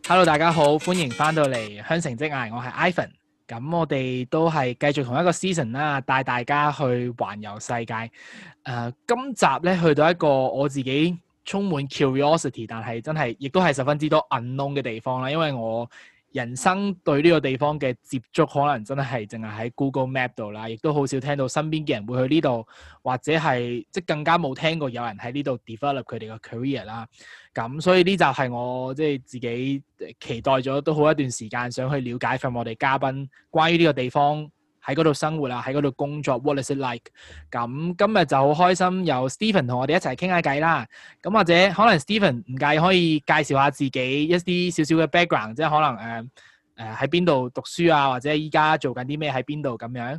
Hello，大家好，歡迎翻到嚟香城職涯，我係 Ivan。咁我哋都係繼續同一個 season 啦，帶大家去環遊世界。今集咧去到一個我自己充滿 curiosity，但係真係亦都係十分之多 unknown 嘅地方啦。因為我人生對呢個地方嘅接觸，可能真係淨係喺 Google Map 度啦，亦都好少聽到身邊嘅人會去呢度，或者係即更加冇聽過有人喺呢度 develop 佢哋嘅 career 啦。咁所以呢集係我即係自己期待咗都好一段時間，想去了解from我哋嘉賓關於呢個地方喺嗰度生活啊，喺嗰度工作 ，what is it like？ 咁今日就好開心有 Stephen 同我哋一齊傾下偈啦。咁或者可能 Stephen 唔介意可以介紹下自己一啲少少嘅 background，即係可能喺邊度讀書啊，或者依家做緊啲咩喺邊度咁樣。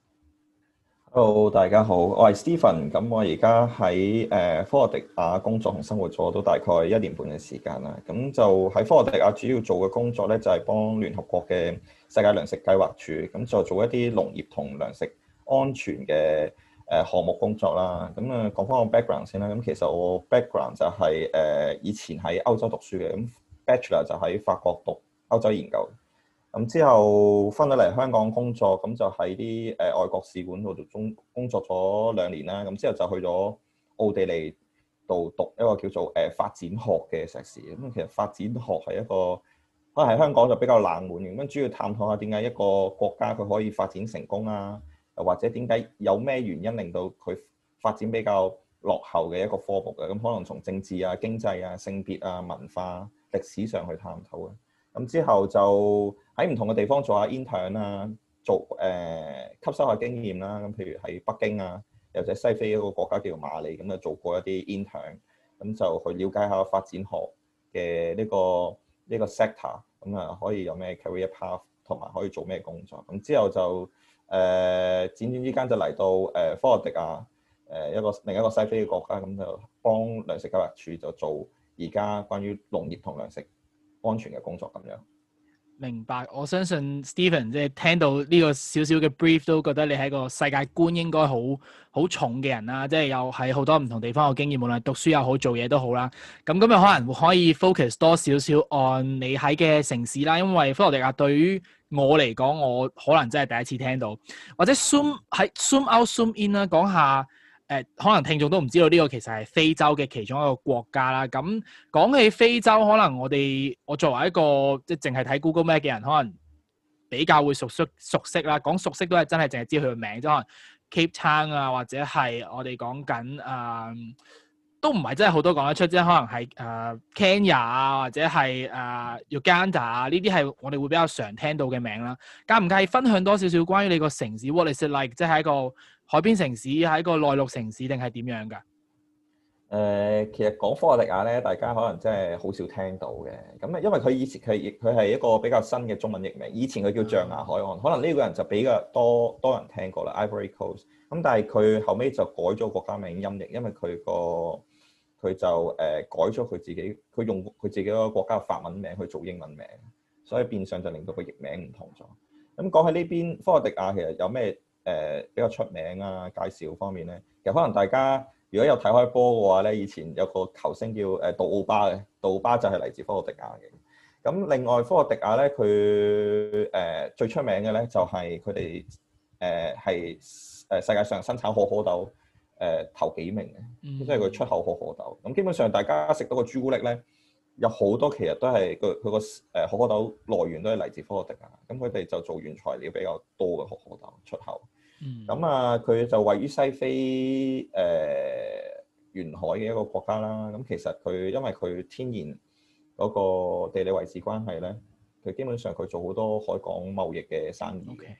Hello，大家好，我係 Stephen。咁我而家喺科羅迪亞工作同生活咗都大概1年半嘅時間啦。咁就喺科羅迪亞主要做嘅工作咧，就係幫聯合國嘅世界糧食計劃署，咁就做一啲農業同糧食安全嘅項目工作啦。咁講翻我 background 先啦。咁其實我 background 就係以前喺歐洲讀書嘅，咁 Bachelor 就喺法國讀歐洲研究。咁之後翻到嚟香港工作，咁就喺啲外國使館度工作咗2年啦。咁之後就去咗奧地利度讀一個叫做發展學嘅碩士。咁其實發展學係一個可能喺香港就比較冷門嘅，咁主要探討下點解一個國家佢可以發展成功啊，又或者點解有咩原因令到佢發展比較落後嘅一個科目嘅。咁可能從政治啊、經濟啊、性別啊、文化、歷史上去探討嘅。咁之後就喺唔同嘅地方做下 intern 啊，做吸收下經驗啦。咁譬如喺北京啊，又或者西非一個國家叫做馬里，咁就做過一啲 intern，咁就去了解下發展學嘅呢個 sector，咁啊可以有咩 career path，同埋可以做咩工作。咁之後就輾轉之間就嚟到科羅迪亞另一個西非嘅國家，咁就幫糧食計劃署就做而家關於農業同糧食安全嘅工作咁樣。 明白，我相信 Stephen 即係聽到呢個少少嘅 brief 都覺得你係一個世界觀應該好重嘅人啦，即係有喺好多唔同地方嘅經驗，無論讀書又好做嘢都好啦。咁今日可能會可以 focus 多少少 on 你喺嘅城市啦，因為科羅迪亞對於我嚟講，我可能真係第一次聽到，或者 zoom out zoom in 啦，講下。可能聽眾都唔知道呢個其實係非洲嘅其中一個國家啦。咁講起非洲，可能我作為一個即係淨係睇 Google Map 嘅人，可能比較會熟悉啦。講熟悉都係真係淨係知佢個名，即可能 Cape Town 啊，或者係我哋講緊都唔係真係好多講得出，即係可能係Kenya 啊，或者係Uganda 啊，呢啲係我哋會比較常聽到嘅名啦。介唔介意分享多少少關於你個城市 What is it like？即係一個海邊城市，係一個內陸城市定係點樣㗎？ 其實講科羅迪亞咧，大家可能真係好少聽到嘅。咁因為佢以前佢係一個比較新嘅中文譯名，以前佢叫象牙海岸，可能呢個人就比較多人聽過啦 ，Ivory Coast。咁但係佢後尾就改咗國家名音譯，因為佢就改咗佢自己，佢用佢自己個國家嘅法文名去做英文名，所以變相就令到個譯名唔同咗。咁講起呢邊科羅迪亞，其實有咩比較出名啊？介紹方面咧，其實可能大家如果有睇開波嘅話咧，以前有個球星叫杜奧巴嘅，杜奧巴就係嚟自科羅迪亞嘅。咁另外科羅迪亞咧，佢最出名嘅咧就係佢哋係世界上生產可可豆頭幾名嘅，即係佢出口可可豆。咁基本上大家食到個朱古力咧，有好多其實都係佢個可可豆來源都係嚟自科羅迪亞。咁佢哋就做原材料比較多嘅可可豆出口。咁佢就位於西非沿海嘅一個國家啦。咁其實佢因為佢天然嗰個地理位置關係咧，佢基本上佢做好多海港貿易嘅生意嘅。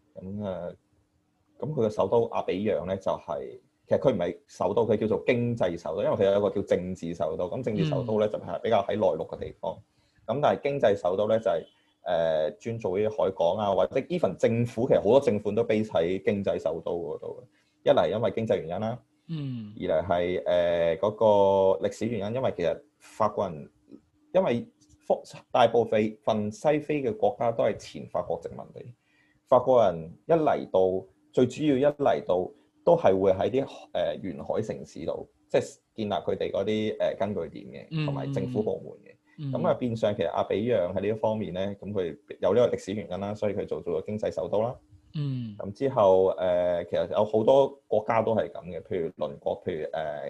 咁佢嘅首都阿比揚咧就係、其實佢唔係首都，佢叫做經濟首都，因為佢有一個叫政治首都。咁政治首都咧就係比較喺內陸嘅地方。咁但係經濟首都咧就係專做啲海港啊，或者 even 政府其實好多政府都 base 喺經濟首都嗰度。一嚟因為經濟原因啦，二嚟係嗰個歷史原因，因為其實法國人因為大部分西非嘅國家都係前法國殖民地，法國人一嚟到最主要一嚟到都係會喺啲沿海城市度，即係建立佢哋嗰啲根據點嘅，同埋政府部門嘅。 咁啊變相其實阿比讓喺呢一方面咧，咁佢有呢個歷史原因啦，所以佢做咗經濟首都啦。咁之後其實有好多國家都係咁嘅，譬如鄰國，譬如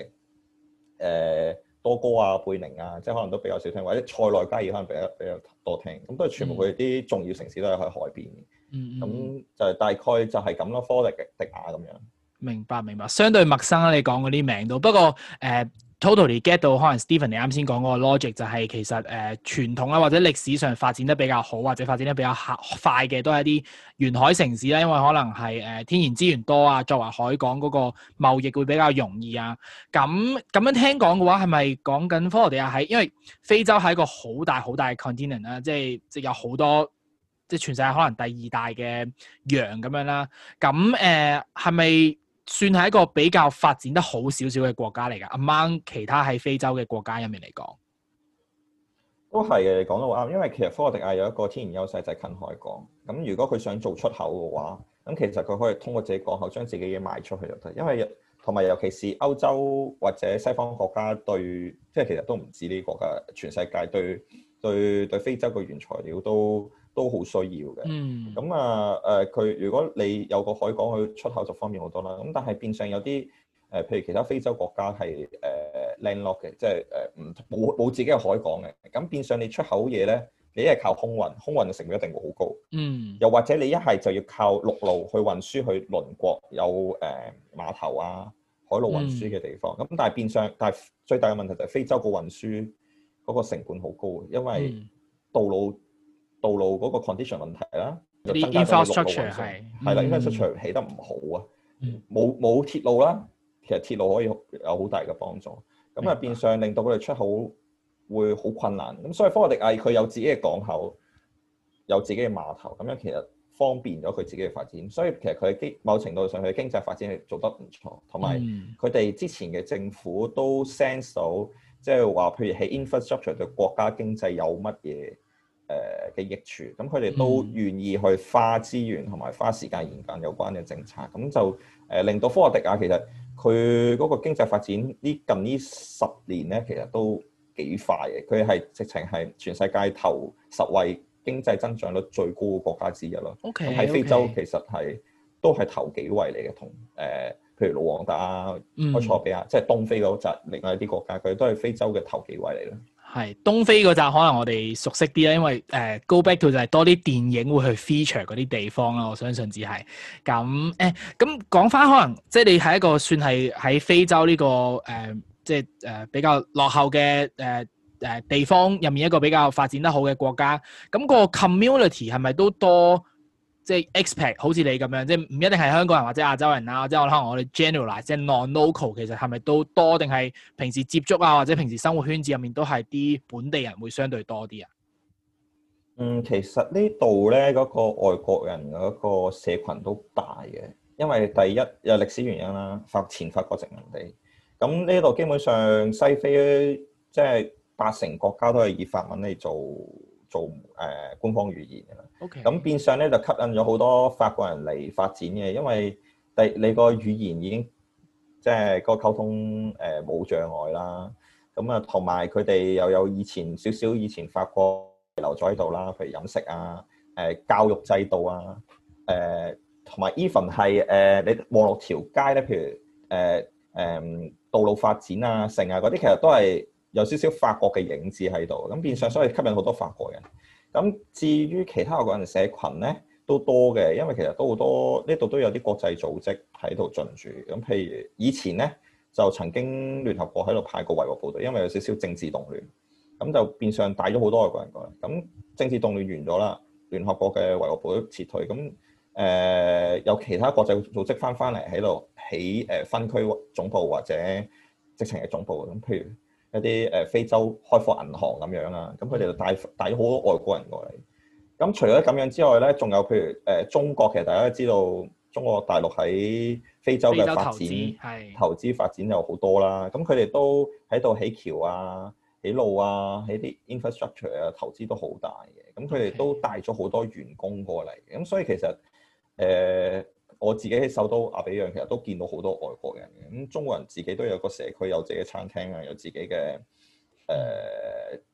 多哥啊、貝寧啊，即係可能都比較少聽，或者塞內加爾可能比較多聽。咁都係全部佢啲重要城市都係喺海邊嘅。咁就係大概就係咁咯，科特迪瓦咁樣。明白。 相對陌生啦，你講嗰啲名都。不過totally get 到可能 Stephen 你啱先講嗰個 logic 就係其實傳統啊或者歷史上發展得比較好或者發展得比較快嘅都係一啲沿海城市啦，因為可能係天然資源多啊，作為海港嗰個貿易會比較容易啊。咁樣聽講嘅話係咪講緊科羅地亞喺因為非洲係一個好大嘅 continent 啦，即係有好多即係全世界可能第二大嘅洋咁樣啦。咁係咪算係一個比較發展得好少少嘅國家嚟㗎 ？among 其他喺非洲嘅國家入面嚟講， 都係嘅，你講得好啱。因為其實科羅地亞有一個天然優勢就係近海港。咁如果佢想做出口嘅話，咁其實佢可以通過自己港口將自己嘢賣出去就得。因為同埋尤其是歐洲或者西方國家對，即係其實都唔止呢啲國家，全世界對非洲嘅原材料都好需要嘅。咁佢如果你有個海港去出口就方便好多啦。咁但係變相有啲譬如其他非洲國家係landlock 嘅，即係冇自己嘅海港嘅。咁變相你出口嘢咧，你一係靠空運嘅成本一定會好高。又或者你一係就要靠陸路去運輸去鄰國有碼頭啊、海路運輸嘅地方。咁但係最大嘅問題就係非洲個運輸嗰個成本好高，因為道路嗰個 condition 問題啦，就增加咗陸路運輸。係啦，infrastructure 起得唔好啊，冇鐵路啦。其實鐵路可以有好大嘅幫助。咁啊變相令到佢哋出口會好困難。咁所以科羅地亞佢有自己嘅港口，有自己嘅碼頭，咁樣其實方便咗佢自己嘅發展。所以其實佢某程度上佢嘅經濟發展係做得唔錯，同埋佢哋之前嘅政府都 sense 到，即係話譬如喺 infrastructure 對國家經濟有乜嘢嘅益處，咁佢哋都願意去花資源同埋花時間研究有關嘅政策，咁就令到科羅地亞其實佢嗰個經濟發展近呢10年咧，其實都幾快嘅。佢係直情係全世界頭10位經濟增長率最高嘅國家之一咯。咁喺非洲其實都係頭幾位嚟嘅，同譬如盧旺達啊、埃塞俄比亞，即係東非嗰紮另外一啲國家，佢都係非洲嘅頭幾位嚟咯。 係東非嗰紮可能我哋熟悉啲啦，因為Go Back to 就係多啲電影會去 feature 嗰啲地方啦。我相信只係咁咁講翻，可能即係你係一個算係喺非洲呢個即係比較落後嘅地方入面一個比較發展得好嘅國家。咁個 community 係咪都多？即係 expat 好似你咁樣，即係唔一定係香港人或者亞洲人啦，即係可能我哋 generalize 即係 non-local， 其實係咪都多？定係平時接觸啊，或者平時生活圈子入面都係啲本地人會相對多啲啊？ 其實呢度咧嗰個外國人嗰個社群都大嘅，因為第一有歷史原因啦，前法國殖民地。咁呢度基本上西非即係80%國家都係以法文嚟做官方語言嘅啦。咁變相咧就吸引咗好多法國人嚟發展嘅，因為你個語言已經即係個溝通冇障礙啦。咁啊，同埋佢哋又有以前法國留咗喺度啦，譬如飲食啊、教育制度啊、同埋 even 係你望落條街咧，譬如道路發展啊、城啊嗰啲，其實都係有少少法國嘅影子喺度，咁變相所以吸引好多法國人。咁至於其他外國人社群咧都多嘅，因為其實都好多呢度都有啲國際組織喺度進駐。咁譬如以前咧就曾經聯合國喺度派過維和部隊，因為有少少政治動亂，咁就變相帶咗好多外國人過嚟。咁政治動亂完咗啦，聯合國嘅維和部隊撤退，咁有其他國際組織翻嚟喺度起分區總部或者直情係總部。咁譬如一啲非洲開發銀行咁樣啊，咁佢哋就帶咗好多外國人過嚟。咁除咗咁樣之外咧，仲有譬如中國，其實大家都知道中國大陸喺非洲嘅發展投資發展有好多啦。咁佢哋都喺度起橋啊、起路啊、起啲 infrastructure 啊，投資都好大嘅。咁佢哋都帶咗好多員工過嚟。咁所以其實我自己喺首都阿比讓，其實都見到好多外國人嘅。咁中國人自己都有個社區，有自己嘅餐廳啊，有自己嘅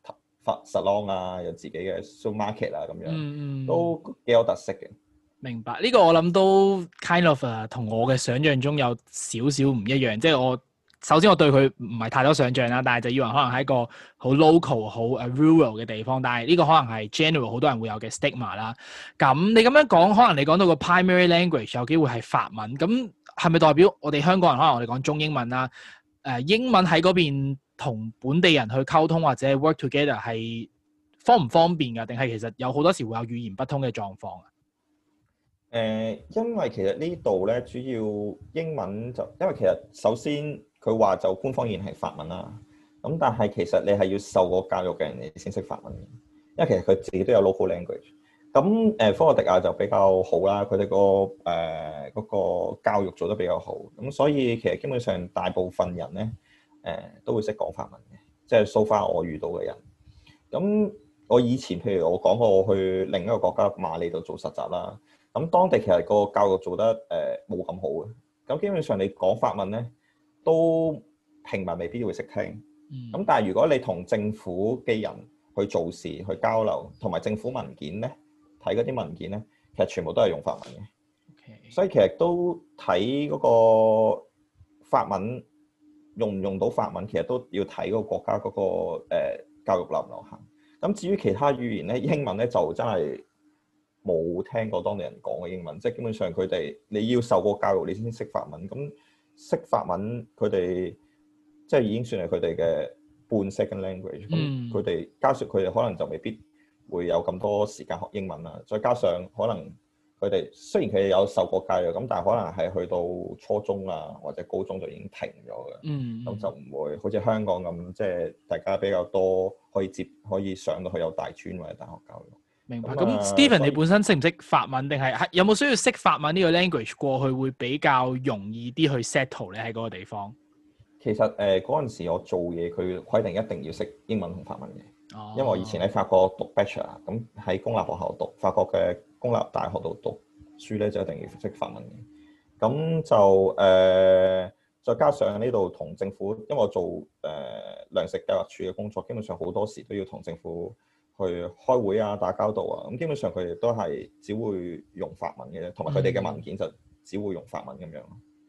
salon 啊，有自己嘅 supermarket 啊咁樣，都幾有特色嘅。 明白，呢個我諗都 kind of 同我嘅想像中有少少唔一樣，即係我首先我對佢唔係太多想像啦，但係就以為可能係一個好 local 好 rural 嘅地方，但係呢個可能係 general 好多人會有嘅 stigma 啦。咁你咁樣講，可能你講到個 primary language 有機會係法文，咁係咪代表我哋香港人可能我哋講中英文啦？英文喺嗰邊同本地人去溝通或者 work together 係方唔方便㗎？定係其實有好多時會有語言不通嘅狀況啊？ 因為其實呢度咧主要英文就，因為其實首先佢話就官方語言係法文啦，咁但係其實你係要受過教育嘅人你先識法文嘅，因為其實佢自己都有 local language。咁科羅迪亞就比較好啦，佢哋嗰個教育做得比較好，咁所以其實基本上大部分人咧都會識講法文嘅，即係 so far 我遇到嘅人。咁我以前譬如我講過我去另一個國家馬里度做實習啦。咁當地其實個教育做得冇咁好嘅，咁基本上你講法文咧，都平民未必會識聽。咁但係如果你同政府嘅人去做事、去交流，同埋政府文件咧，睇嗰啲文件咧，其實全部都係用法文嘅。Okay. 所以其實都睇嗰個法文用唔用到法文，其實都要睇嗰個國家嗰個教育流唔流行。咁至於其他語言咧，英文咧就真係冇聽過當地人講嘅英文，即係基本上佢哋你要受過教育，你先識法文。咁識法文，佢哋即係已經算係佢哋嘅半 second language。咁佢哋加上佢哋可能就未必會有咁多時間學英文啦。再加上可能佢哋雖然佢哋有受過教育，咁但係可能係去到初中啊或者高中就已經停咗嘅。咁就唔會好似香港咁，即係大家比較多可以上到去有大專或者大學教育。 明白。咁 Stephen 你本身識唔識法文，定係有冇需要識法文呢個 language 過去會比較容易啲去 settle 咧喺嗰個地方？ 其實嗰陣時我做嘢，佢規定一定要識英文同法文嘅。因為我以前喺法國讀 Bachelor，咁喺公立學校讀法國嘅公立大學度讀書咧，就一定要識法文嘅。咁就再加上呢度同政府，因為我做糧食計劃處嘅工作，基本上好多時都要同政府去開會啊、打交道啊，咁基本上佢哋都係只會用法文嘅啫，同埋佢哋嘅文件就只會用法文咁樣。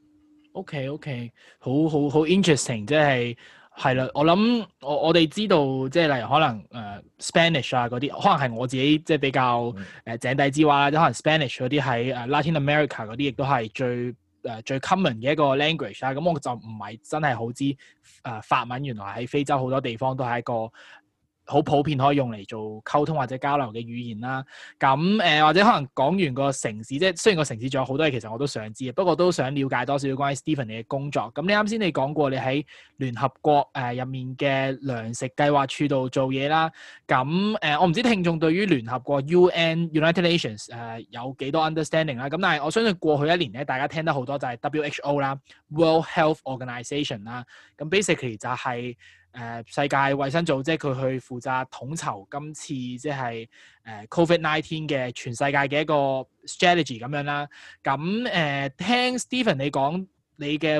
OK，好 interesting，即係啦。我諗我哋知道，即係例如可能Spanish 啊嗰啲，可能係我自己即係比較井底之蛙啦。即可能 Spanish 嗰啲喺Latin America 嗰啲，亦都係最 common 嘅一個 language 啦。咁我就唔係真係好知法文原來喺非洲好多地方都係一個好普遍可以用嚟做溝通或者交流嘅語言啦。咁或者可能講完個城市，即係雖然個城市仲有好多嘢，其實我都想知，不過都想了解多少關於 Stephen 你嘅工作。咁你啱先你講過你喺聯合國入面嘅糧食計劃處度做嘢啦。咁我唔知聽眾對於聯合國 United Nations 有幾多 understanding 啦。咁但係我相信過去一年咧，大家聽得好多就係 WHO 啦 ，World Health Organization 啦。咁 basically 就係世界衛生組織佢去負責統籌今次即係COVID-19 嘅全世界嘅一個 strategy 咁樣啦。咁聽 Stephen 你講你嘅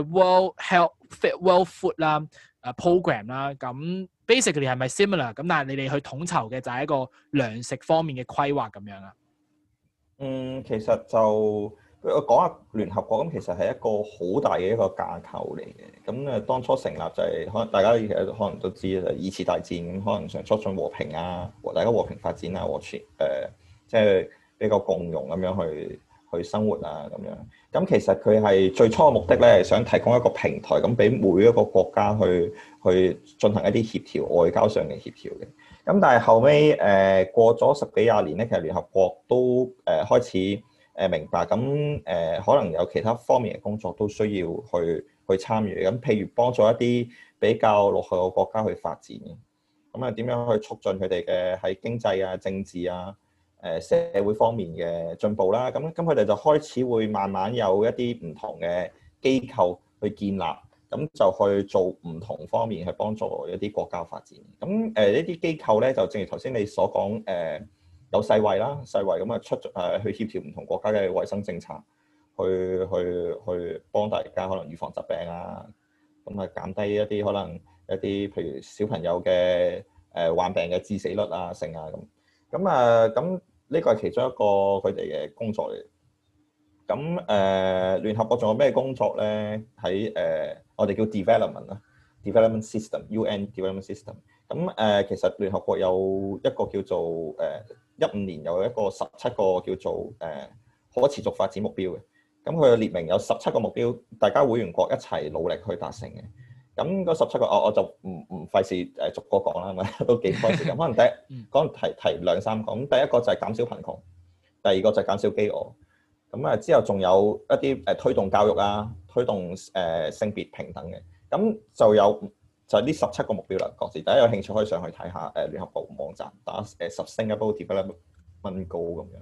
World Food 啦program 啦，咁 basically 係咪 similar？咁但係你哋去統籌嘅就係一個糧食方面嘅規劃咁樣啊？ 其實就我講下聯合國咁，其實係一個好大嘅一個架構嚟嘅。咁當初成立就係可能大家其實可能都知啦，二次大戰咁，可能想促進和平啊，大家和平發展啊，即係比較共融咁樣去生活啊咁樣。咁其實佢係最初嘅目的咧，係想提供一個平台，咁俾每一個國家去進行一啲協調，外交上嘅協調嘅。咁但係後尾過咗10幾20年咧，其實聯合國都開始明白，咁可能有其他方面嘅工作都需要去參與。咁譬如幫助一啲比較落後嘅國家去發展嘅，咁啊點樣去促進佢哋嘅喺經濟啊、政治啊、社會方面嘅進步啦。咁佢哋就開始會慢慢有一啲唔同嘅機構去建立，咁就去做唔同方面去幫助一啲國家發展。咁呢啲機構咧，就正如頭先你所講有世衛啦，世衛咁啊去協調唔同國家嘅衛生政策，去幫大家可能預防疾病啊，咁啊減低一啲可能一啲譬如小朋友嘅患病嘅致死率啊、成啊咁呢個係其中一個佢哋嘅工作嚟。咁聯合國仲有咩工作咧？喺我哋叫 development system，UN development system。咁其實聯合國有一個叫做15年有一個17個叫做可持續發展目標嘅。咁佢列明有17個目標，大家會員國一齊努力去達成嘅。咁嗰17個我就唔費事逐個講啦，咁都幾多時間。可能提兩三個。咁第一個就係減少貧窮，第二個就係減少飢餓。咁之後仲有一啲推動教育啊，推動性別平等嘅。咁就係呢17個目標啦。各自大家有興趣可以上去睇下聯合國網站打Sustainable Development Goal 咁樣。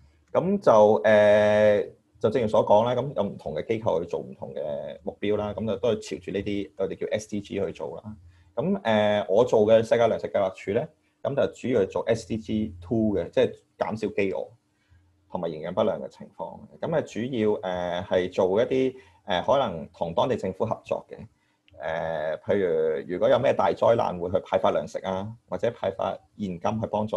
咁就正如所講啦，咁有唔同嘅機構去做唔同嘅目標啦。咁就都係朝住呢啲我哋叫 SDG 去做啦。咁我做嘅世界糧食計劃署咧，咁就主要係做 SDG 2嘅，即係減少飢餓同埋營養不良嘅情況。咁主要係做一啲可能同當地政府合作嘅。譬如果有咩大災難，會去派發糧食啊，或者派發現金去幫助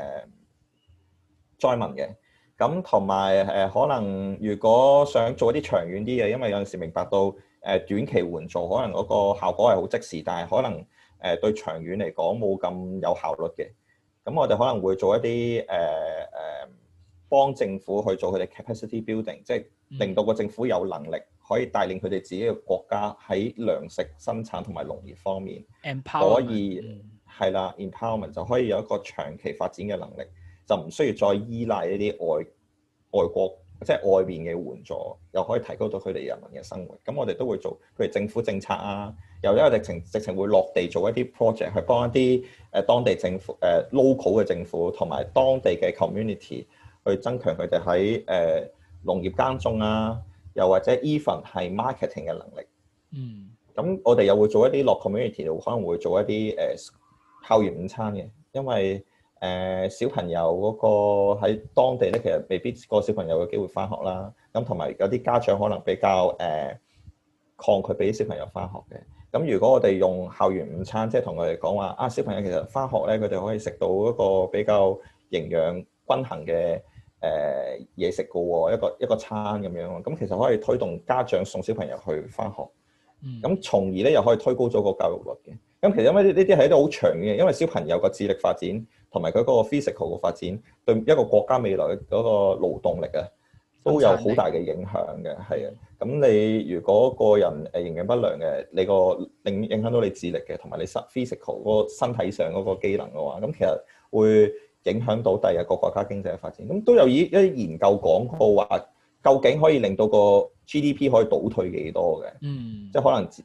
災民嘅。咁同埋可能如果想做一啲長遠啲嘅，因為有陣時明白到短期援助可能嗰個效果係好即時，但係可能對長遠嚟講冇咁有效率嘅。咁我哋可能會做一啲幫政府去做佢哋 capacity building， 即係令到個政府有能力可以帶領佢哋自己嘅國家喺糧食生產同埋農業方面可以係啦 empowerment 就可以有一個長期發展嘅能力。就唔需要再依賴一啲外國，即係外邊嘅援助，又可以提高到佢哋人民嘅生活。咁我哋都會做，譬如政府政策啊，又因為直情會落地做一啲 project 去幫一啲當地政府local 嘅政府同埋當地嘅 community 去增強佢哋喺農業耕種啊，又或者 even 係 marketing 嘅能力。咁我哋又會做一啲落 community 度，可能會做一啲校園午餐嘅，因為小朋友嗰個喺當地咧，其實未必個小朋友有機會翻學啦。咁同埋有啲家長可能比較抗拒俾啲小朋友翻學嘅。咁如果我哋用校園午餐，即係同佢哋講話啊，小朋友其實翻學咧，佢哋可以食到一個比較營養均衡嘅嘢食噶喎，一個餐咁樣。咁其實可以推動家長送小朋友去翻學，咁從而咧又可以推高咗個教育率嘅。咁其實因為呢啲係一啲好長嘅，因為小朋友個智力發展同埋佢嗰個 physical 嘅發展，對一個國家未來嗰個勞動力啊，都有好大嘅影響嘅。係啊，咁你如果個人營養不良嘅，你個影響到你智力嘅，同埋你 physical 嗰個身體上嗰個機能嘅話，咁其實會影響到第日個國家經濟嘅發展。咁都有一啲研究講過話，究竟可以令到個 GDP 可以倒退幾多嘅？即係可能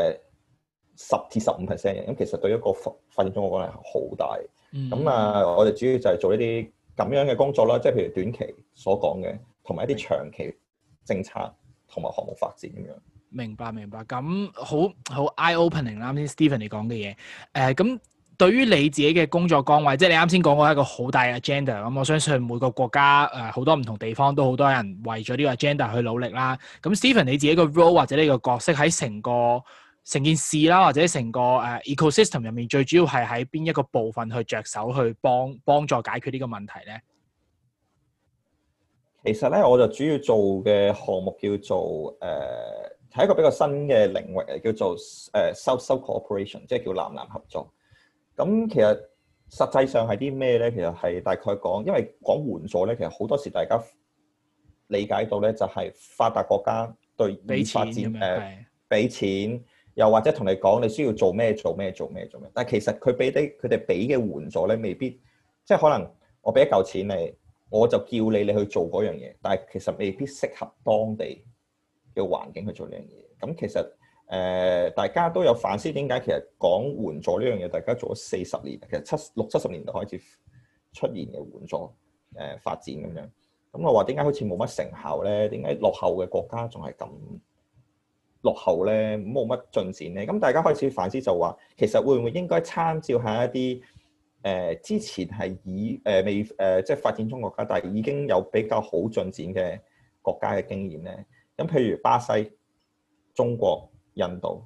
10至15% 嘅，咁其實對一個發展中國講係好大。我哋主要就係做一啲咁樣嘅工作啦，即係譬如短期所講嘅，同埋一啲長期政策同埋項目發展咁樣。 明白。咁好 eye opening 啦，啱先 Stephen 你講嘅嘢。咁對於你自己嘅工作崗位，即係你啱先講過一個好大嘅 agenda。咁我相信每個國家好多唔同地方都好多人為咗呢個 agenda 去努力啦。咁 Stephen 你自己個 role 或者呢個角色喺成件事啦，或者成個ecosystem 入面，最主要係喺邊一個部分去着手去幫助解決呢個問題咧？ 其實咧，我就主要做嘅項目叫做係一個比較新嘅領域，叫做South-South Cooperation， 即係叫南南合作。咁其實實際上係啲咩咧？其實係大概講，因為講援助咧，其實好多時大家理解到咧，就係發達國家對已發展俾錢。又或者同你講你需要做咩，但係其實佢哋俾嘅援助咧，未必即係可能我俾一嚿錢你，我就叫你去做嗰樣嘢，但係其實未必適合當地嘅環境去做呢樣嘢。咁其實大家都有反思點解其實講援助呢樣嘢，大家做咗40年，其實60、70年代開始出現嘅援助發展咁樣。咁我話點解好似冇乜成效咧？點解落後嘅國家仲係咁落後咧，冇乜進展咧？咁大家開始反思就話，其實會唔會應該參照下一啲之前係未即係發展中國家，但係已經有比較好進展嘅國家嘅經驗咧？咁譬如巴西、中國、印度，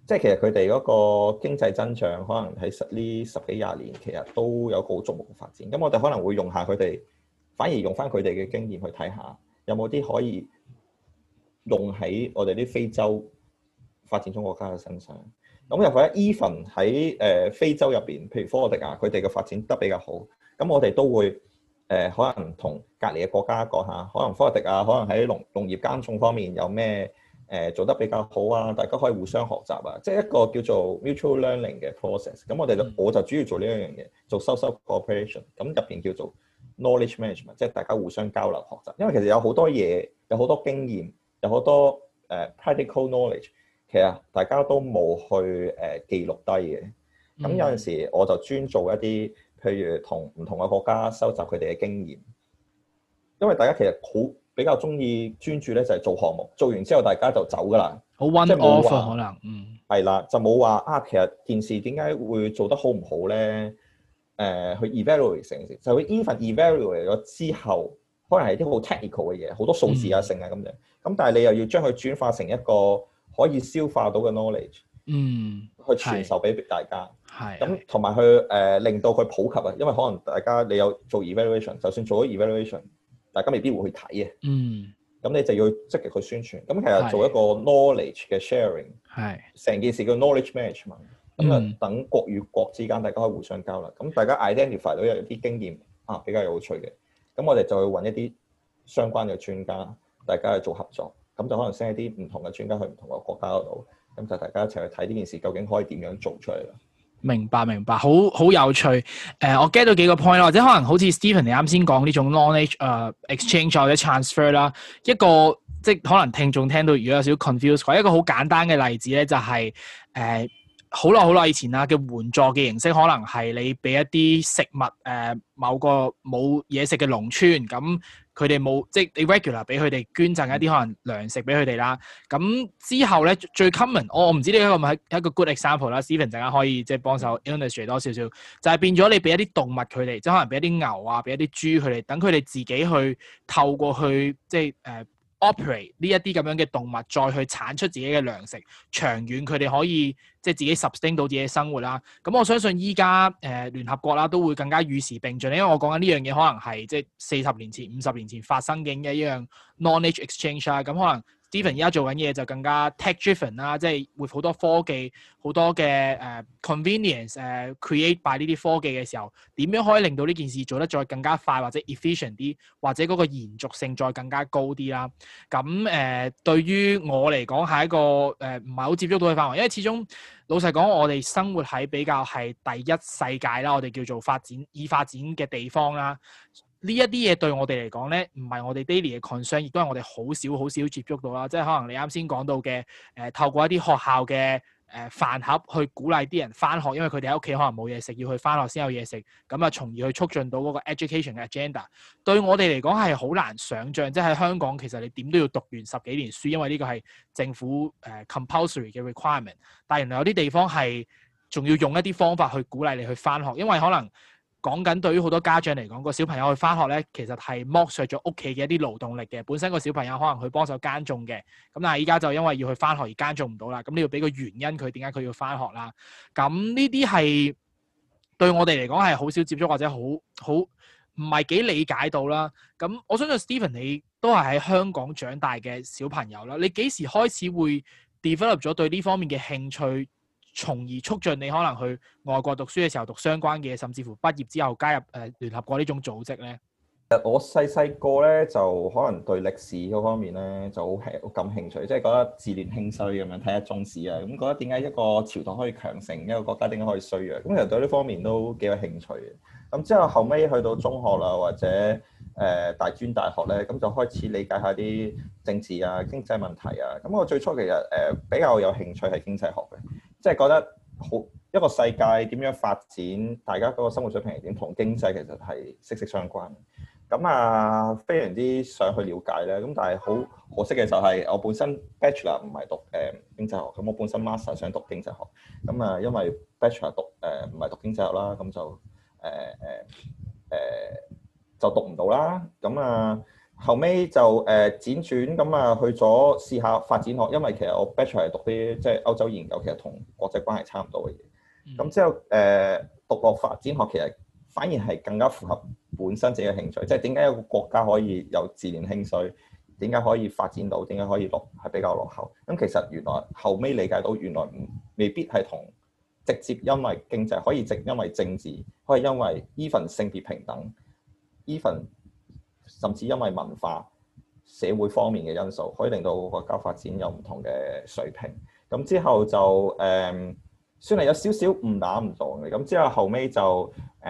即係其實佢哋嗰個經濟增長可能喺呢十幾廿年其實都有個好矚目嘅發展。咁我哋可能會用下佢哋，反而用翻佢哋嘅經驗去睇下，有冇啲可以用喺我哋啲非洲發展中國家嘅身上。咁又或者 even 喺非洲入邊，譬如科特迪瓦，佢哋嘅發展得比較好。咁我哋都會可能同隔離嘅國家講下，可能科特迪瓦可能喺農業耕種方面有咩做得比較好啊，大家可以互相學習啊，即係一個叫做 mutual learning 嘅 process。咁我就主要做呢一樣嘢，做 social cooperation。咁入邊叫做 knowledge management，即係大家互相交流學習。因為其實有好多嘢，有好多經驗，有好多practical knowledge。其實大家都冇去記錄低嘅，咁有陣時我就專做一啲，譬如同唔同嘅國家收集佢哋嘅經驗，因為大家其實比較中意專注咧就係做項目，做完之後大家就走㗎啦， 好 one off 可能， 係啦，就冇話啊，其實件事點解會做得好唔好咧？去 evaluate 成件事，就會 even evaluate 咗之後，可能係啲好 technical 嘅嘢，好多數字啊成啊咁樣，咁但係你又要將佢轉化成一個可以消化到嘅 knowledge， 去傳授俾大家，咁同埋去令到佢普及啊，因為可能大家你有做 evaluation， 就算做咗 evaluation， 大家未必會去睇嘅，咁你就要積極去宣傳。咁其實做一個 knowledge 嘅 sharing， 成件事叫 knowledge management， 咁啊等國與國之間大家可以互相交流，咁大家 identify 到有啲經驗啊比較有趣嘅，咁我哋就會揾一啲相關嘅專家，大家去做合作。咁就可能 send 一啲唔同嘅專家去唔同嘅國家嗰度，咁就大家一齊去睇呢件事究竟可以點樣做出嚟啦。 明白，好有趣。我 get 到幾個 point 啦，或者可能好似 Stephen 你啱先講呢種 knowledge exchange 或者 transfer 啦，一個即係可能聽眾聽到如果有少少 confused， 一個好簡單嘅例子咧就係好耐以前啦嘅援助嘅形式，可能係你俾一啲食物某個冇嘢食嘅農村咁。佢哋冇即係你 regular 俾佢哋捐贈一啲可能糧食俾佢哋啦。咁之後咧最 common，我唔知呢一個係一個 good example 啦。Stephen 陣間可以即係幫手 illustrate 多少少，就係變咗你俾一啲動物佢哋，即係可能俾一啲牛啊，俾一啲豬佢哋，等佢哋自己去透過去即係operate 呢一啲咁樣嘅動物，再去產出自己嘅糧食，長遠佢哋可以即係自己 sustain 到自己嘅生活啦。咁我相信依家聯合國啦都會更加與時並進，因為我講緊呢樣嘢可能係即係40年前、50年前發生嘅一樣 knowledge exchange 啦。咁可能 Stephen 而家做緊嘢就更加 tech driven 啦，即係會好多科技、好多嘅convenience create by 呢啲科技嘅時候，點樣可以令到呢件事做得再更加快或者 efficient 啲，或者嗰個延續性再更加高啲啦。咁對於我嚟講係一個唔係好接觸到嘅範圍，因為始終老實講，我哋生活喺比較係第一世界啦，我哋叫做已發展嘅地方啦。呢一啲嘢對我哋嚟講咧，唔係我哋 daily 嘅 concern， 亦都係我哋好少接觸到啦。即係可能你啱先講到嘅透過一啲學校嘅飯盒去鼓勵啲人返學，因為佢哋喺屋企可能冇嘢食，要去返學先有嘢食，咁啊從而去促進到嗰個 education 嘅 agenda。對我哋嚟講係好難想像，即係喺香港其實你點都要讀完10幾年書，因為呢個係政府compulsory 嘅 requirement。但係原來有啲地方係仲要用一啲方法去鼓勵你去返學，因為可能講緊對於好多家長嚟講，個小朋友去返學咧，其實係剝削咗屋企嘅一啲勞動力嘅。本身個小朋友可能去幫手耕種嘅，咁但係依家就因為要去返學而耕種唔到啦。咁你要俾個原因佢點解佢要返學啦？咁呢啲係對我哋嚟講係好少接觸或者好唔係幾理解到啦。咁我相信 Stephen 你都係喺香港長大嘅小朋友啦。你幾時開始會 develop 咗對呢方面嘅興趣？從而促進你可能去外國讀書嘅時候讀相關嘅嘢，甚至乎畢業之後加入聯合國呢種組織咧。 我細個咧就可能對歷史嗰方面咧就好感興趣，即係覺得自戀興衰咁樣睇下中史啊，咁覺得點解一個朝代可以強盛，一個國家點解可以衰弱，咁其實對呢方面都幾有興趣嘅。咁之後後尾去到中學啦，或者大專大學咧，咁就開始理解下啲政治啊、經濟問題啊。咁我最初其實比較有興趣係經濟學嘅。即係覺得好一個世界點樣發展，大家嗰個生活水平係點，同經濟其實係息息相關。咁啊，非常之想去了解咧。咁但係好可惜嘅就係我本身 Bachelor 唔係讀經濟學，咁我本身 Master 想讀經濟學。咁啊，因為 Bachelor 唔係讀經濟學啦，咁就讀唔到啦。咁啊， 後尾就輾轉咁啊去咗試下發展學，因為其實我 Bachelor 係讀啲即係歐洲研究，其實同國際關係差唔多嘅嘢。咁之後讀落發展學，其實反而係更加符合本身自己嘅興趣，即係點解一個國家可以有自然興趣，點解可以發展到，點解可以係比較落後。咁其實原來後尾理解到，原來未必係同直接因為經濟，可以因為政治，可以因為 even 性別平等 even 甚至因為文化、社會方面嘅因素，可以令到國家發展有唔同嘅水平。咁之後就算係有少少誤打誤撞嘅。咁之後後尾就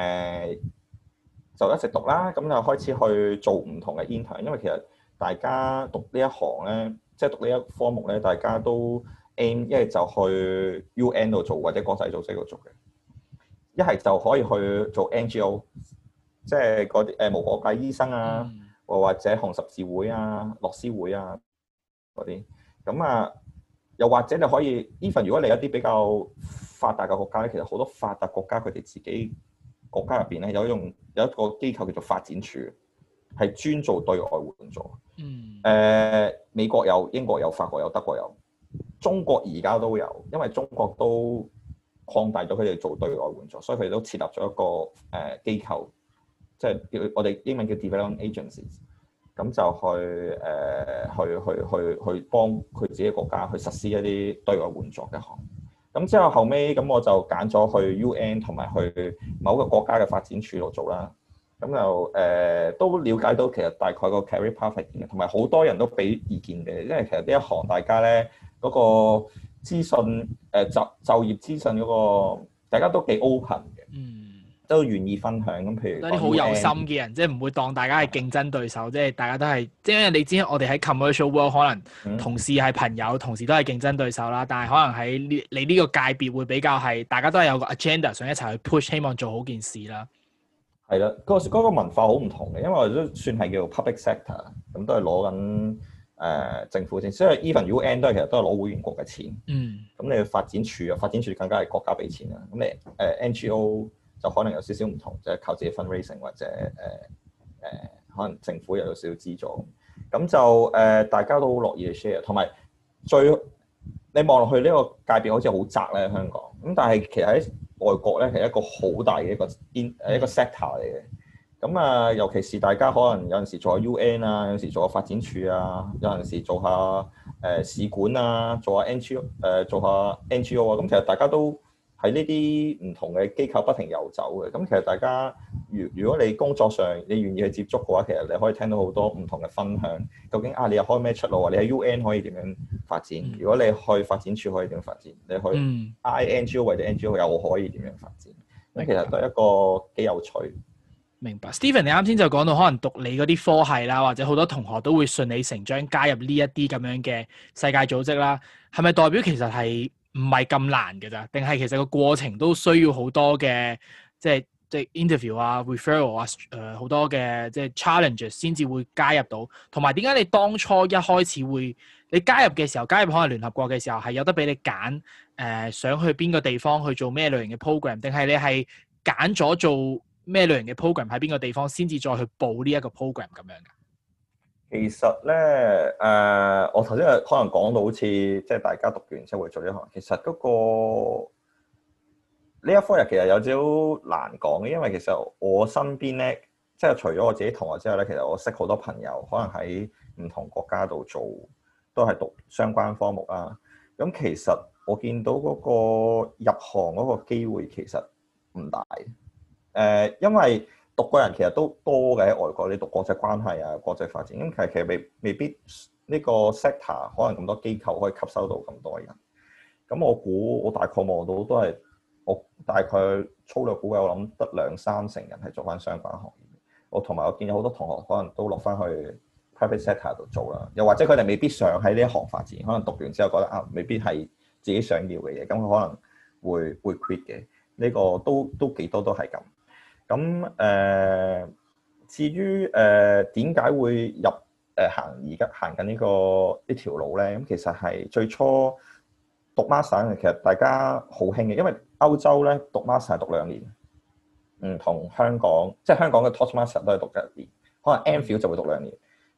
就一直讀啦。咁就開始去做唔同嘅 intern，因為其實大家讀呢一行咧，即係讀呢一科目咧，大家都 aim 一係就去 UN 度做或者國際組織度做嘅，一係就可以去做 NGO。即係嗰啲無國界醫生啊，或者紅十字會啊、樂施會啊嗰啲，咁啊，又或者你可以 even 如果你一啲比較發達嘅國家咧，其實好多發達國家佢哋自己國家入邊咧有一個機構叫做發展處，係專做對外援助。美國有、英國有、法國有、德國有，中國而家都有，因為中國都擴大咗佢哋做對外援助，所以佢哋都設立咗一個機構。即係叫我哋英文叫 development agencies，咁就去幫佢自己國家去實施一啲對外援助嘅項目。咁之後後尾咁我就揀咗去 UN 同埋去某個國家嘅發展處度做啦。咁就都了解到其實大概個 career path 嘅，同埋好多人都俾意見嘅，因為其實呢一行大家咧嗰個資訊就業資訊嗰個大家都幾 open 嘅。都願意分享咁，譬如啲好有心嘅人，即係唔會當大家係競爭對手，即係大家都係，即係你知我哋喺 commercial world 可能同事係朋友，同時都係競爭對手啦。但係可能喺你呢個界別會比較係，大家都係有個 agenda 想一齊去 push，希望做好件事啦。 係啦，嗰個文化好唔同嘅，因為我哋都算係叫做 public sector，咁都係攞緊政府錢，所以 even UN 其實都係攞會員國嘅錢。咁你發展處啊，發展處更加係國家俾錢啦。咁你NGO。就可能有少少唔同，即係靠自己 fundraising 或者可能政府又有少少資助，咁就大家都好樂意去 share， 同埋你望落去呢個界別好似好窄咧香港，咁但係其實喺外國咧係一個好大嘅一個 sector 嚟嘅，咁啊尤其是大家可能有陣時做下 UN 啊，有陣時做下發展處啊，有陣時做下使館啊，做下 NGO 啊，咁其實大家都喺呢啲唔同嘅機構不停遊走嘅，咁其實大家如果你工作上你願意去接觸嘅話，其實你可以聽到好多唔同嘅分享。究竟你又開咩出路啊？你喺 UN 可以點樣發展？如果你去發展處可以點樣發展？你去 INGO 或者 NGO 又可以點樣發展？咁其實都係一個幾有趣。 明白。Stephen，你啱先就講到可能讀你嗰啲科系啦，或者好多同學都會順理成章加入呢一啲咁樣嘅世界組織啦，係咪代表其實係唔係咁難嘅咋？定係其實個過程都需要好多嘅即係 interview 啊、referral 啊、好多嘅即係 challenges 先至會加入到。同埋點解你當初一開始會你加入嘅時候，加入可能聯合國嘅時候係有得俾你揀想去邊個地方去做咩類型嘅 program， 定係你係揀咗做咩類型嘅 program 喺邊個地方先至再去報呢一個 program 咁樣㗎？ 其實咧，我頭先可能講到好似即係大家讀完之後會做呢行，其實嗰個呢一科其實有少少難講嘅，因為其實我身邊咧，即係除咗我自己同學之外咧，其實我識好多朋友，可能喺唔同國家度做，都係讀相關科目啦。咁其實我見到嗰個入行嗰個機會其實唔大，因為讀嘅人其實都多嘅喺外國，你讀國際關係啊、國際發展，咁其實未必呢個 sector 可能咁多機構可以吸收到咁多人。咁我估我大概望到都係我大概粗略估計，我諗得2-3成人係做翻相關行業。我同埋我見有好多同學可能都落翻去 private sector 度做啦，又或者佢哋未必想喺呢一行發展，可能讀完之後覺得未必係自己想要嘅嘢，咁佢可能會 quit 嘅。呢個都幾多都係咁。咁至於點解會入而家行緊呢條路咧？咁其實係最初讀 master 其實大家好興嘅，因為歐洲咧讀 master 係讀2年，唔同香港，即係香港嘅 Toastmaster 都係讀1年，可能 MPhil 就會讀2年。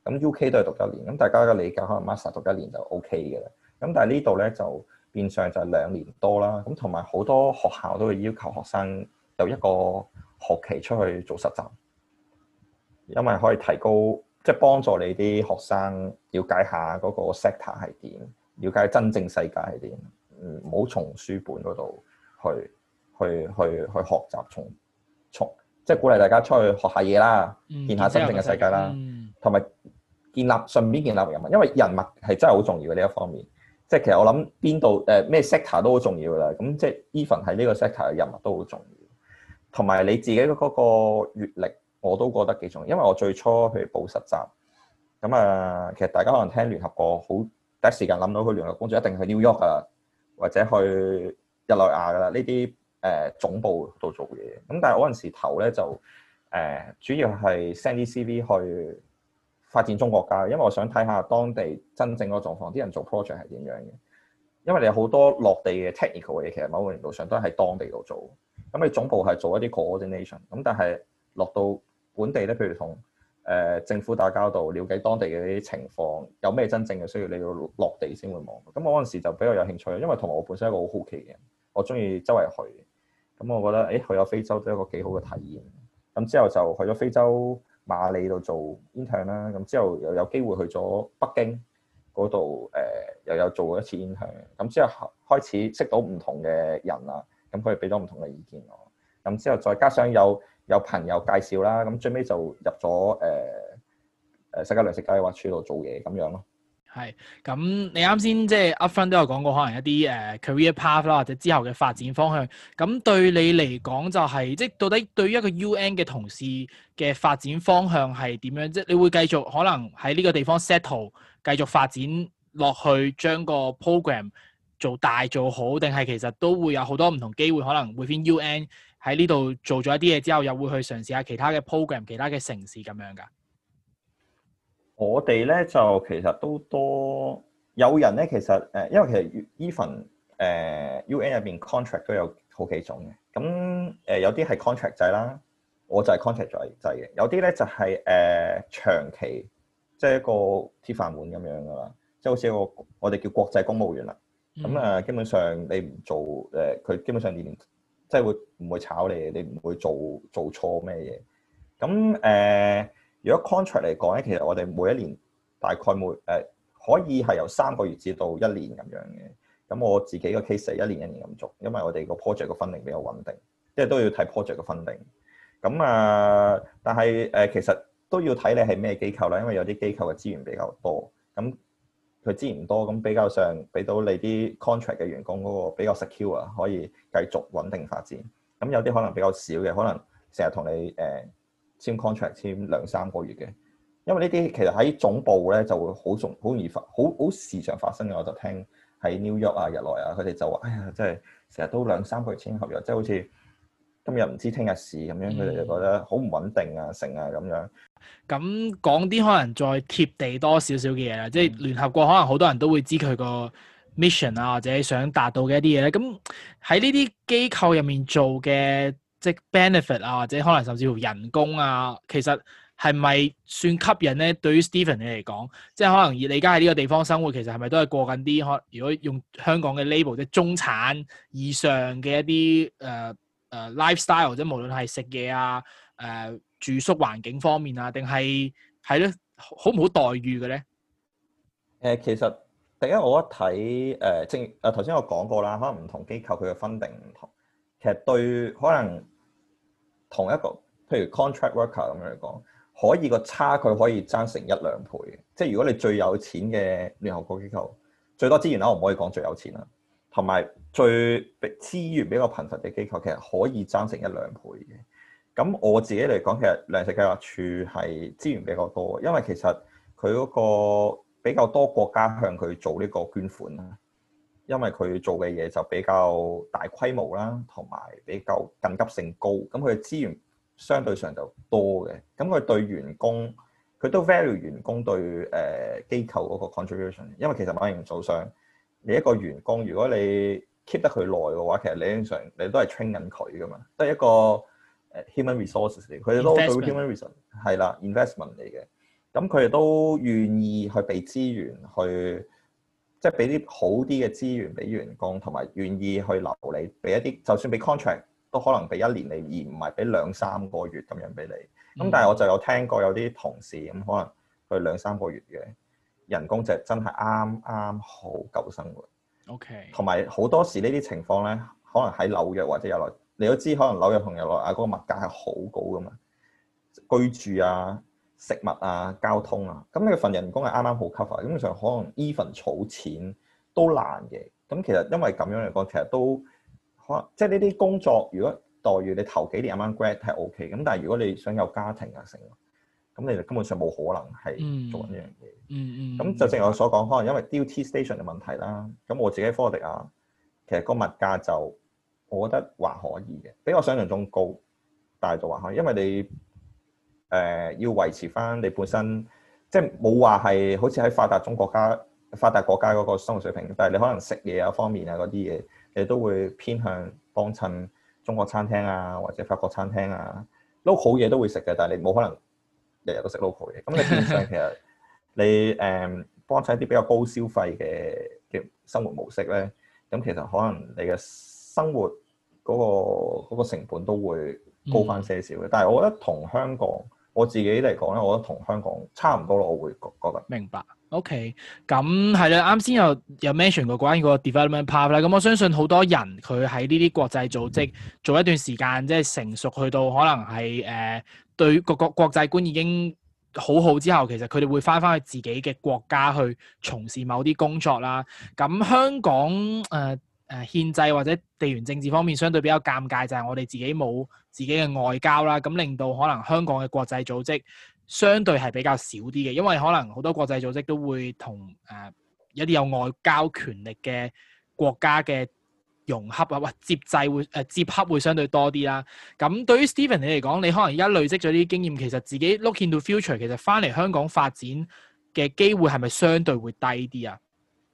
咁 UK 都係讀1年，咁大家嘅理解可能 master 讀1年就 OK 嘅啦。咁但係呢度咧就變相就係2年多啦。咁同埋好多學校都會要求學生有一個學期出去做實習，因為可以提高即係幫助你啲學生了解下嗰個 sector 係點，了解真正世界係點。唔好從書本嗰度去學習，從即係鼓勵大家出去學下嘢啦，見下真正嘅世界啦，同埋順便建立人物，因為人物係真係好重要嘅呢一方面。即係其實我諗邊度咩 sector 都好重要㗎啦。咁即係 even 喺呢個 sector 嘅人物都好重要，同埋你自己嗰個閲歷我都覺得幾重要。因為我最初譬如報實習咁啊，其實大家可能聽聯合國好第一時間諗到去聯合工作一定去 New York 啊，或者去日內瓦㗎啦，呢啲總部度做嘢。咁但係嗰陣時頭咧就主要係 send 啲 CV 去發展中國家，因為我想睇下當地真正嗰個狀況，啲人做 project 係點樣嘅。因為你有好多落地嘅 technical 嘅嘢，其實某個程度上都喺當地度做。咁你總部係做一啲 coordination，咁但係落到本地咧，譬如同政府打交道，了解當地嘅啲情況，有咩真正嘅需要，你要落地先會望。咁我嗰陣時就比較有興趣，因為同埋我本身係一個好好奇嘅人，我中意周圍去。咁我覺得去咗非洲都係一個幾好嘅體驗。咁之後就去咗非洲馬里度做 intern 啦。咁之後又有機會去咗北京嗰度又有做過一次 intern。咁之後開始識到唔同嘅人啦，咁佢哋俾咗唔同嘅意見我。咁之後再加上有朋友介紹啦，咁最尾就入咗世界糧食計劃處度做嘢咁樣咯。 係，咁你啱先即係 upfront 都有講過，可能一啲career path 啦，或者之後嘅發展方向。咁對你嚟講就係、是，即係到底對於一個 UN 嘅同事嘅發展方向係點樣？即係你會繼續可能喺呢個地方 settle，繼續發展落去，將個 program 做大做好，定係其實都會有好多唔同機會，可能 within UN 喺呢度做咗一啲嘢之後，又會去嘗試下其他嘅 program、其他嘅城市咁樣㗎？ 我哋咧就其實都多有人咧，其實因為其實 even UN 入邊 contract 都有好幾種嘅。咁有啲係 contract 制啦，我就係 contract 制嘅。有啲咧就係長期，即係一個鐵飯碗咁樣噶啦，即係好似一個我哋叫國際公務員啦。咁基本上你唔做佢基本上年即係唔會炒你，你唔會做錯咩嘢。咁如果 contract 嚟講咧，其實我哋每一年大概可以係由3個月至到1年咁樣嘅。咁我自己個 case 係1年1年咁做，因為我哋個 project 個 funding 比較穩定，即係都要睇 project 個 funding。咁但係其實都要睇你係咩機構啦，因為有啲機構嘅資源比較多，咁佢資源多，咁比較上俾到你啲 contract 嘅員工嗰個比較 secure，可以繼續穩定發展。咁有啲可能比較少嘅，可能成日同你簽 contract 簽2-3個月嘅，因為呢啲其實喺總部咧就會好容易好時常發生嘅。我就聽喺 New York 啊、日內啊，佢哋就話：哎呀，真係成日都2-3個月簽合約，即係好似今日唔知聽日事咁樣，佢哋就覺得好唔穩定啊、成啊咁樣。 咁講啲可能再貼地多少少嘅嘢啦，即係聯合國可能好多人都會知佢個 mission 啊，或者想達到嘅一啲嘢咧。咁喺呢啲機構入面做嘅，即係 benefit 啊，或者可能甚至乎人工啊，其實係咪算吸引咧？對於 Stephen 你嚟講，即係可能你而家喺呢個地方生活，其實係咪都係過緊啲如果用香港嘅 label，即係中產以上嘅一啲lifestyle，即係無論係食嘢啊、住宿環境方面啊，定係咧好唔好待遇嘅咧？ 其實第一我一睇正頭先我講過啦，可能唔同機構佢嘅 funding 唔同。其實對可能同一個譬如 contract worker 咁樣嚟講，可以個差距可以爭成1-2倍嘅。即係如果你最有錢嘅聯合國機構，最多資源啦，我唔可以講最有錢啦，同埋最資源比較貧乏嘅機構，其實可以爭成1-2倍嘅。咁我自己嚟講，其實糧食計劃處係資源比較多，因為其實佢嗰個比較多國家向佢做呢個捐款啦。因為佢做嘅嘢就比較大規模啦，同埋比較緊急性高，咁佢嘅資源相對上就多嘅。咁佢對員工，佢都 value 員工對機構嗰個 contribution。因為其實某程度上，你一個員工如果你 keep 得佢耐嘅話，其實理論上你都係 train 緊佢噶嘛，都係一個human resources 嚟。佢哋都對 human resources 係啦 investment 嚟嘅。 咁佢哋都願意去俾資源去，即係俾啲好啲嘅資源俾員工，同埋願意去留你，俾一啲就算俾 contract 都可能俾1年你，而唔係俾2-3個月咁樣俾你。咁但係我就有聽過有啲同事咁可能佢2-3個月嘅人工就真係啱啱好夠生活。 OK。同埋好多時呢啲情況咧，可能喺紐約或者日內，你都知可能紐約同日內瓦嗰個物價係好高噶嘛，居住啊、食物啊、交通啊，咁你份人工係啱啱好 cover，基本上可能 even 儲錢都難嘅。咁其實因為咁樣嚟講，其實都可能即係呢啲工作，如果待遇你頭幾年啱啱 grad 係 OK，咁但係如果你想有家庭啊成，咁你就根本上冇可能係做緊呢樣嘢。咁就正如我所講，可能因為 duty station 嘅問題啦。咁我自己科迪亞，其實個物價就我覺得還可以嘅，比我想象中高，但係就還可以，因為你要維持翻你本身，即係冇話係好似喺發達國家嗰個生活水平，但係你可能食嘢啊方面啊嗰啲嘢，你都會偏向幫襯中國餐廳啊或者法國餐廳啊，local 嘢都會食嘅，但係你冇可能日日都食 local 嘢。咁你變相其實你幫襯一啲比較高消費嘅生活模式咧，咁其實可能你嘅生活嗰個成本都會高翻些少嘅。但係我覺得同香港我自己嚟講咧，我覺得同香港差唔多咯，我會覺得。 明白。OK，咁係啦，啱先有 mention 過關於個 development path 啦。咁我相信好多人佢喺呢啲國際組織做一段時間，即係成熟去到可能係對個國際觀已經好之後，其實佢哋會翻去自己嘅國家去從事某啲工作啦。咁香港憲制或者地緣政治方面相對比較尷尬，就係我哋自己冇自己嘅外交啦，咁令到可能香港嘅國際組織相對係比較少啲嘅，因為可能好多國際組織都會同一啲有外交權力嘅國家嘅融合啊，或接洽會相對多啲啦。咁對於 Stephen 你嚟講，你可能而家累積咗啲經驗，其實自己 look into future， 其實翻嚟香港發展嘅機會係咪相對會低啲啊？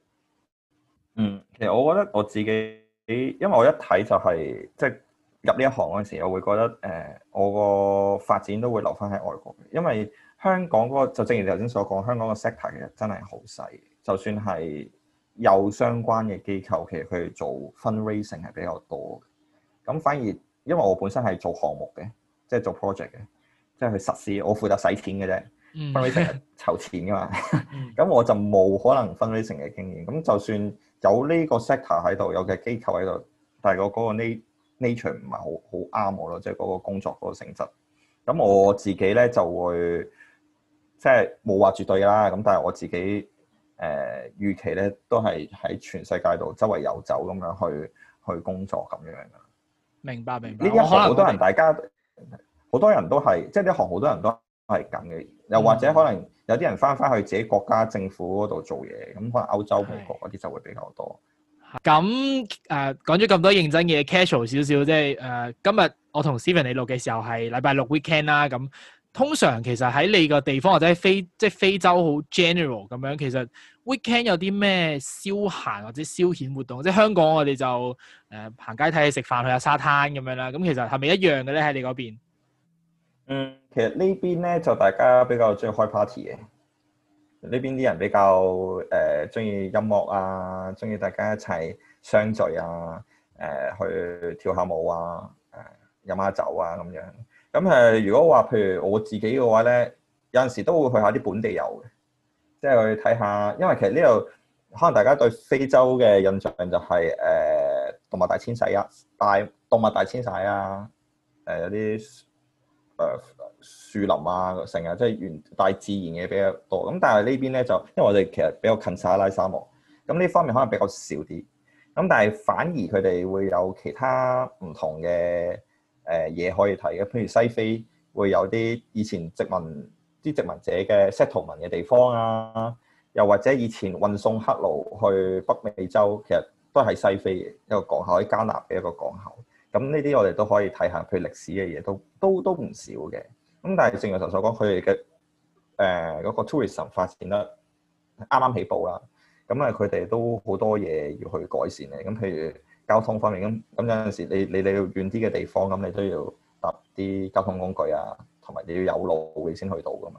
其實我覺得我自己，因為我一睇就係即係入呢一行嗰陣時，我會覺得我個發展都會留翻喺外國嘅，因為香港嗰個就正如你頭先所講，香港個 sector 其實真係好細，就算係有相關嘅機構，其實佢哋做 fundraising 係比較多嘅。咁反而因為我本身係做項目嘅，即係做 project 嘅，即係去實施，我負責使錢嘅啫。fundraising 係籌錢噶嘛，咁我就冇可能 fundraising 嘅經驗。咁就算有呢個 sector 喺度，有嘅機構喺度，但係嗰個 nature 唔係好啱我咯，即係嗰個工作嗰個性質。咁我自己咧就會即係冇話絕對啦。咁但係我自己預期咧都係喺全世界度周圍遊走咁樣去工作咁樣噶。 明白。呢一行好多人，大家好多人都係即係呢行好多人都係咁嘅。又或者可能有啲人翻去自己國家政府嗰度做嘢，咁可能歐洲、美國嗰啲就會比較多。 咁講咗咁多認真嘅 casual 少少，即係今日我同 Stephen 你錄嘅時候係禮拜六 weekend 啦。咁通常其實喺你個地方或者係非洲好 general 咁樣，其實 weekend 有啲咩消閒或者消遣活動？即係香港我哋就行街睇戲食飯去下沙灘咁樣啦。咁其實係咪一樣嘅咧？喺你嗰邊？ 其實呢邊咧就大家比較中意開 party 嘅，呢邊啲人比較中意音樂啊，中意大家一齊相聚啊，去跳下舞啊，飲下酒啊咁樣。咁如果話譬如我自己嘅話咧，有陣時都會去下啲本地遊嘅，即係去睇下，因為其實呢度可能大家對非洲嘅印象就係動物大遷徙啊，動物大遷徙啊，有啲樹林啊，成日即係大自然嘅比較多。咁但係呢邊咧就，因為我哋其實比較近撒哈拉沙漠，咁呢方面可能比較少啲。咁但係反而佢哋會有其他唔同嘅嘢可以睇嘅，譬如西非會有啲以前殖民者嘅 settlement 嘅地方啊，又或者以前運送黑奴去北美洲，其實都係西非嘅一個港口，喺加納嘅一個港口。咁呢啲我哋都可以睇下，譬如歷史嘅嘢都唔少嘅。咁但係正如頭所講，佢哋嘅嗰個 tourism 發展得啱啱起步啦。咁佢哋都好多嘢要去改善嘅。咁譬如交通方面，咁有陣時你要遠啲嘅地方，咁你都要搭啲交通工具啊，同埋你要有路你先去到噶嘛。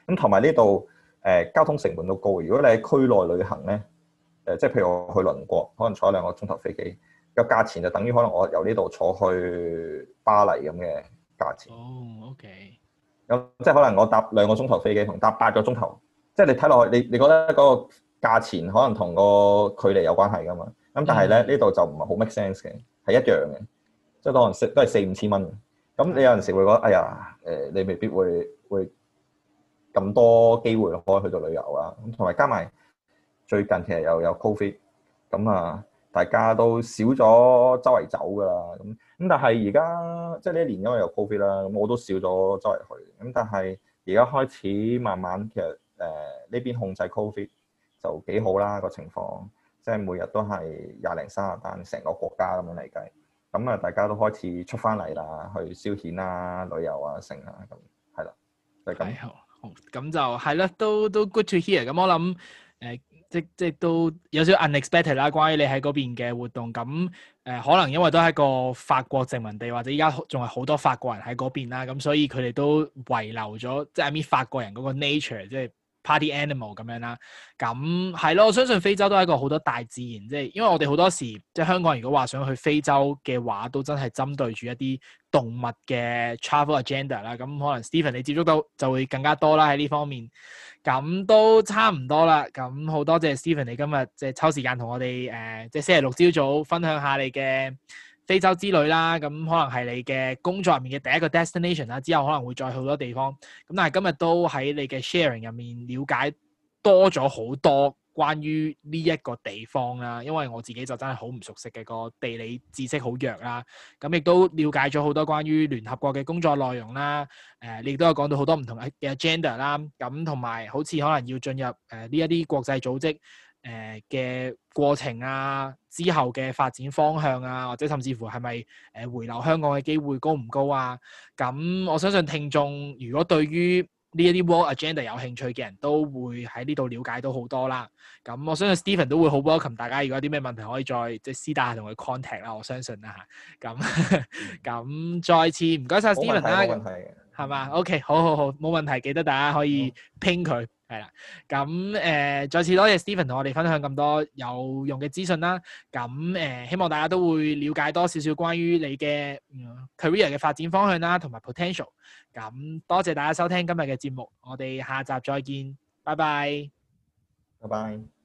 咁同埋呢度交通成本都高。如果你喺區內旅行咧，即係譬如我去鄰國，可能坐2個鐘頭飛機，個價錢就等於可能我由呢度坐去巴黎咁嘅價錢。 哦，OK。 咁即係可能我搭2個鐘頭飛機同搭8個鐘頭，即係你睇落去，你覺得嗰個價錢可能同個距離有關係噶嘛？咁但係咧呢度就唔係好 make sense 嘅，係一樣嘅，即係可能都係4、5千蚊。咁你有陣時會覺得，哎呀，你未必會咁多機會可以去到旅遊啊。咁同埋加埋最近其實又有 Covid，咁啊大家都少咗周圍走噶啦。咁但係而家即係呢一年因為有 Covid 啦，咁我都少咗周圍去。咁但係而家開始慢慢其實呢邊控制 Covid 就幾好啦個情況，即係每日都係20、30單，成個國家咁樣嚟計。咁啊，大家都開始出翻嚟啦，去消遣啊、旅遊啊、剩啊咁，係啦，就係咁。 好，咁就係啦，都 good to hear。咁我諗即都有少少 unexpected 啦，關於你喺嗰邊嘅活動。咁可能因為都係一個法國殖民地，或者依家仲係好多法國人喺嗰邊啦，咁所以佢哋都遺留咗即係 I mean 法國人嗰個 nature，即係 party animal 咁樣啦。咁係咯，我相信非洲都係一個好多大自然，即係因為我哋好多時即係香港人如果話想去非洲嘅話，都真係針對住一啲動物嘅 travel agenda 啦。咁可能 Stephen 你接觸到就會更加多啦喺呢方面。咁都差唔多啦。咁好多謝 Stephen 你今日即係抽時間同我哋即係星期六朝早分享下你嘅非洲之旅啦。咁可能係你嘅工作入面嘅第一個 destination 啦，之後可能會再去好多地方。咁但係今日都喺你嘅 sharing 入面了解多咗好多關於呢一個地方啦，因為我自己就真係好唔熟悉嘅，個地理知識好弱啦。咁亦都了解咗好多關於聯合國嘅工作內容啦。你亦都有講到好多唔同嘅 agenda 啦。咁同埋好似可能要進入呢一啲國際組織嘅過程啊，之後嘅發展方向啊，或者甚至乎係咪回流香港嘅機會高唔高啊？咁我相信聽眾如果對於呢一啲 World Agenda 有興趣嘅人都會喺呢度了解到好多啦。咁我相信 Stephen 都會好 welcome 大家，如果有啲咩問題可以再即係私底下同佢 contact 啦。我相信啦嚇。咁再次唔該晒 Stephen 啦。冇問題。係嘛？OK，好，冇問題。記得大家可以拼佢係啦。咁再次多謝 Stephen 同我哋分享咁多有用嘅資訊啦。咁希望大家都會了解多少少關於你嘅career 嘅發展方向啦，同埋 potential。咁多謝大家收聽今日嘅節目，我哋下集再見，拜拜。 拜拜。